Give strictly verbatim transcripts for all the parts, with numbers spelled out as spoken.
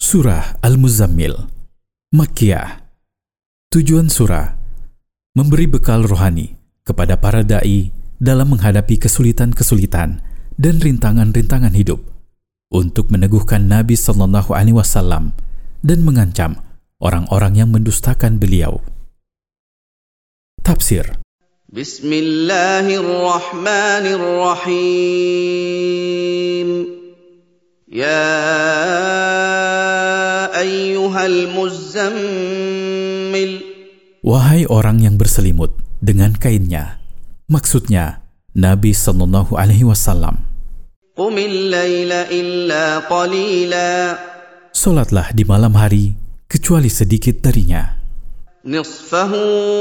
Surah Al-Muzammil, Makkiyah. Tujuan surah memberi bekal rohani kepada para da'i dalam menghadapi kesulitan-kesulitan dan rintangan-rintangan hidup, untuk meneguhkan Nabi Sallallahu Alaihi Wasallam dan mengancam orang-orang yang mendustakan beliau. Tafsir. Bismillahirrahmanirrahim. Ya ayyuhal muzammil. Wahai orang yang berselimut dengan kainnya, maksudnya Nabi Sallallahu Alaihi Wasallam. Qumil laila illa qalila. Solatlah di malam hari kecuali sedikit darinya. Nisfahu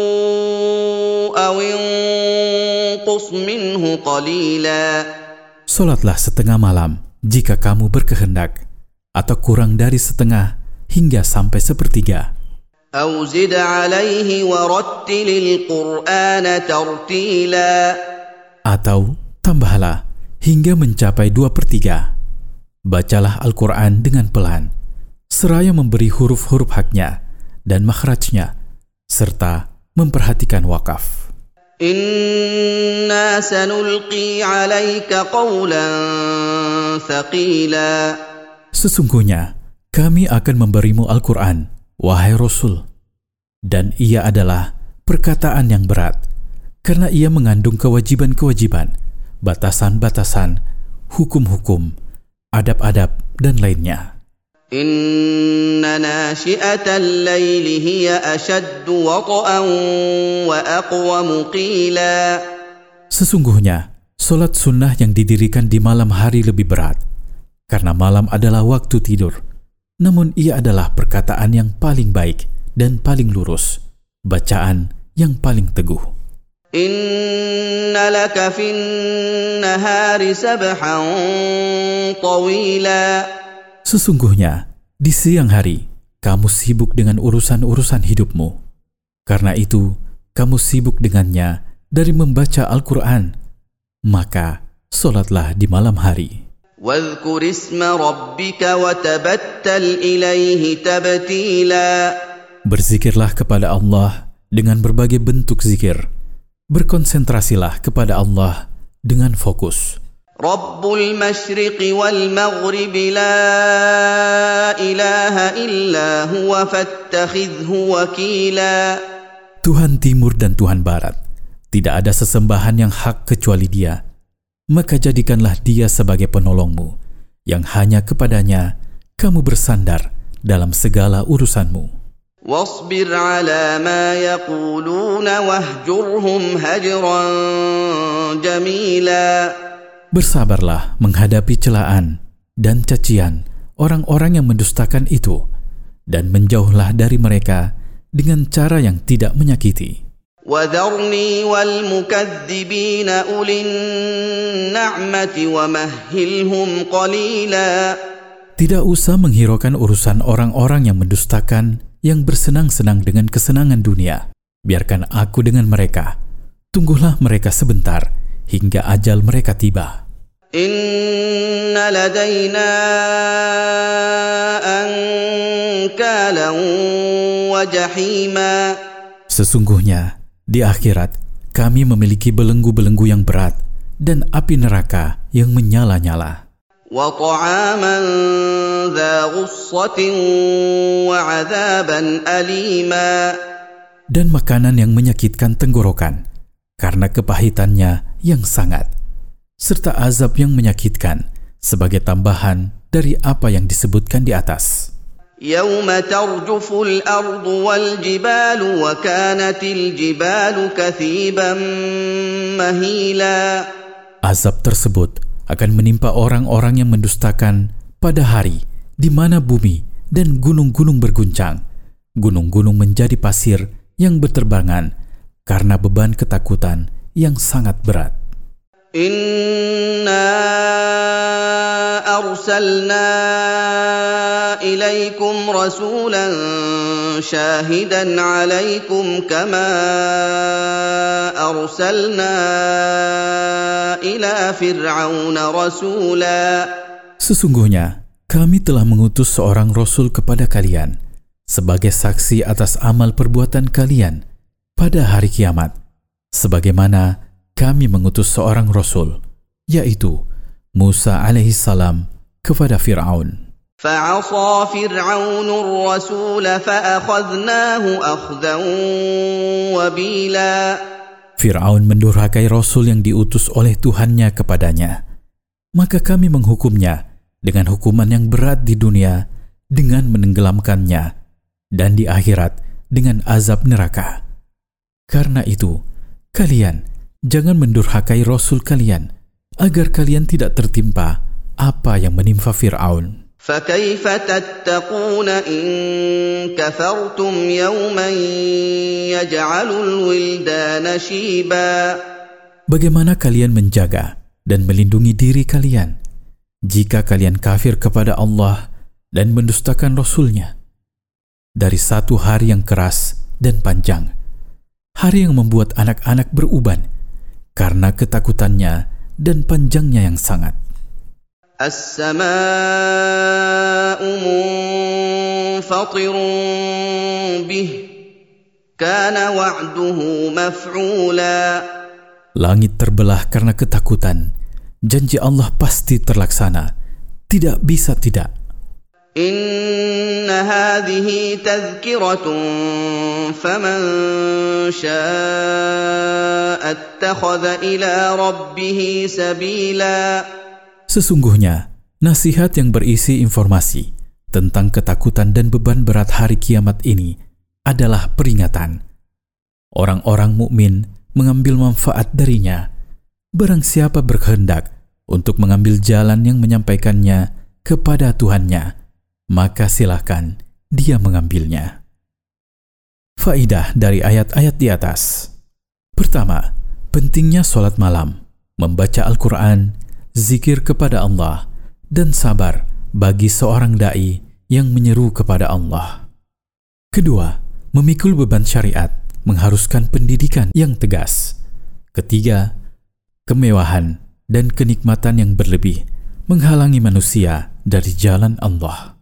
aw inqus minhu qalila. Solatlah setengah malam jika kamu berkehendak, atau kurang dari setengah hingga sampai sepertiga. Aw zid alaihi warattilil qur'ana tartila. Atau tambahlah hingga mencapai dua per tiga. Bacalah Al-Quran dengan pelan, seraya memberi huruf-huruf haknya dan makhrajnya, serta memperhatikan wakaf. Inna sanulqi alaika qawlan thaqila. Sesungguhnya kami akan memberimu Al-Quran, wahai Rasul, dan ia adalah perkataan yang berat, karena ia mengandung kewajiban-kewajiban, batasan-batasan, hukum-hukum, adab-adab, dan lainnya. Inna nashi'atal laili hiya ashaddu wata'an wa aqwamu qila. Sesungguhnya, solat sunnah yang didirikan di malam hari lebih berat, karena malam adalah waktu tidur. Namun ia adalah perkataan yang paling baik dan paling lurus, bacaan yang paling teguh. Inna laka fin nahari sabhan tawila. Sesungguhnya, di siang hari, kamu sibuk dengan urusan-urusan hidupmu. Karena itu, kamu sibuk dengannya dari membaca Al-Quran. Maka, solatlah di malam hari. Wadhkur isma rabbika wa tabattal ilaihi tabtila. Berzikirlah kepada Allah dengan berbagai bentuk zikir. Berkonsentrasilah kepada Allah dengan fokus. Rabbul masyriqi wal maghribi la ilaha illa huwa fattakhidhu wakila. Tuhan timur dan Tuhan barat, tidak ada sesembahan yang hak kecuali Dia. Maka jadikanlah Dia sebagai penolongmu, yang hanya kepadanya kamu bersandar dalam segala urusanmu. Wasbir ala ma yaquluna wahjurhum hajran jamila. Bersabarlah menghadapi celaan dan cacian orang-orang yang mendustakan itu, dan menjauhlah dari mereka dengan cara yang tidak menyakiti. وَذَرْنِي وَالْمُكَذِّبِينَ أُولِي النَّعْمَةِ وَمَهِّلْهُمْ قَلِيلًا. Tidak usah menghiraukan urusan orang-orang yang mendustakan, yang bersenang-senang dengan kesenangan dunia. Biarkan aku dengan mereka. Tunggulah mereka sebentar hingga ajal mereka tiba. Inna ladaina ankalan wa jahima. Sesungguhnya di akhirat kami memiliki belenggu-belenggu yang berat dan api neraka yang menyala-nyala. Wa ta'aman dha ghussatin wa 'adzaban alima. Dan makanan yang menyakitkan tenggorokan karena kepahitannya yang sangat, serta azab yang menyakitkan sebagai tambahan dari apa yang disebutkan di atas. Yawma tarjuful ardu wal jibalu wa kanatil jibalu kathiban mahila. Azab tersebut akan menimpa orang-orang yang mendustakan pada hari di mana bumi dan gunung-gunung berguncang. Gunung-gunung menjadi pasir yang berterbangan karena beban ketakutan yang sangat berat. Inna arsalna ilaikum rasulan syahidan alaikum kama arsalna ila fir'auna rasula. Sesungguhnya Kami telah mengutus seorang Rasul kepada kalian sebagai saksi atas amal perbuatan kalian pada hari kiamat, sebagaimana kami mengutus seorang Rasul, yaitu Musa alaihissalam kepada Fir'aun. فعصى فرعون الرسول فأخذناه أخذا وبيلا. Fir'aun mendurhakai Rasul yang diutus oleh Tuhannya kepadanya. Maka kami menghukumnya dengan hukuman yang berat di dunia dengan menenggelamkannya, dan di akhirat dengan azab neraka. Karena itu, kalian jangan mendurhakai Rasul kalian, agar kalian tidak tertimpa apa yang menimpa Fir'aun. فكيف تتقون إن كفرتم يوما يجعل الولدان شيبا. Bagaimana kalian menjaga dan melindungi diri kalian jika kalian kafir kepada Allah dan mendustakan Rasul-Nya dari satu hari yang keras dan panjang, hari yang membuat anak-anak beruban karena ketakutannya dan panjangnya yang sangat. السماء منفطر به كان وعده مفعولا. Langit terbelah karena ketakutan. Janji Allah pasti terlaksana. Tidak bisa tidak. إن هذه تذكرة فمن شاء اتخذ إلى ربه سبيلا. Sesungguhnya, nasihat yang berisi informasi tentang ketakutan dan beban berat hari kiamat ini adalah peringatan. Orang-orang mukmin mengambil manfaat darinya. Barang siapa berkehendak untuk mengambil jalan yang menyampaikannya kepada Tuhannya, maka silakan dia mengambilnya. Faidah dari ayat-ayat di atas. Pertama, pentingnya sholat malam, membaca Al-Quran, zikir kepada Allah, dan sabar bagi seorang da'i yang menyeru kepada Allah. Kedua, memikul beban syariat mengharuskan pendidikan yang tegas. Ketiga, kemewahan dan kenikmatan yang berlebih menghalangi manusia dari jalan Allah.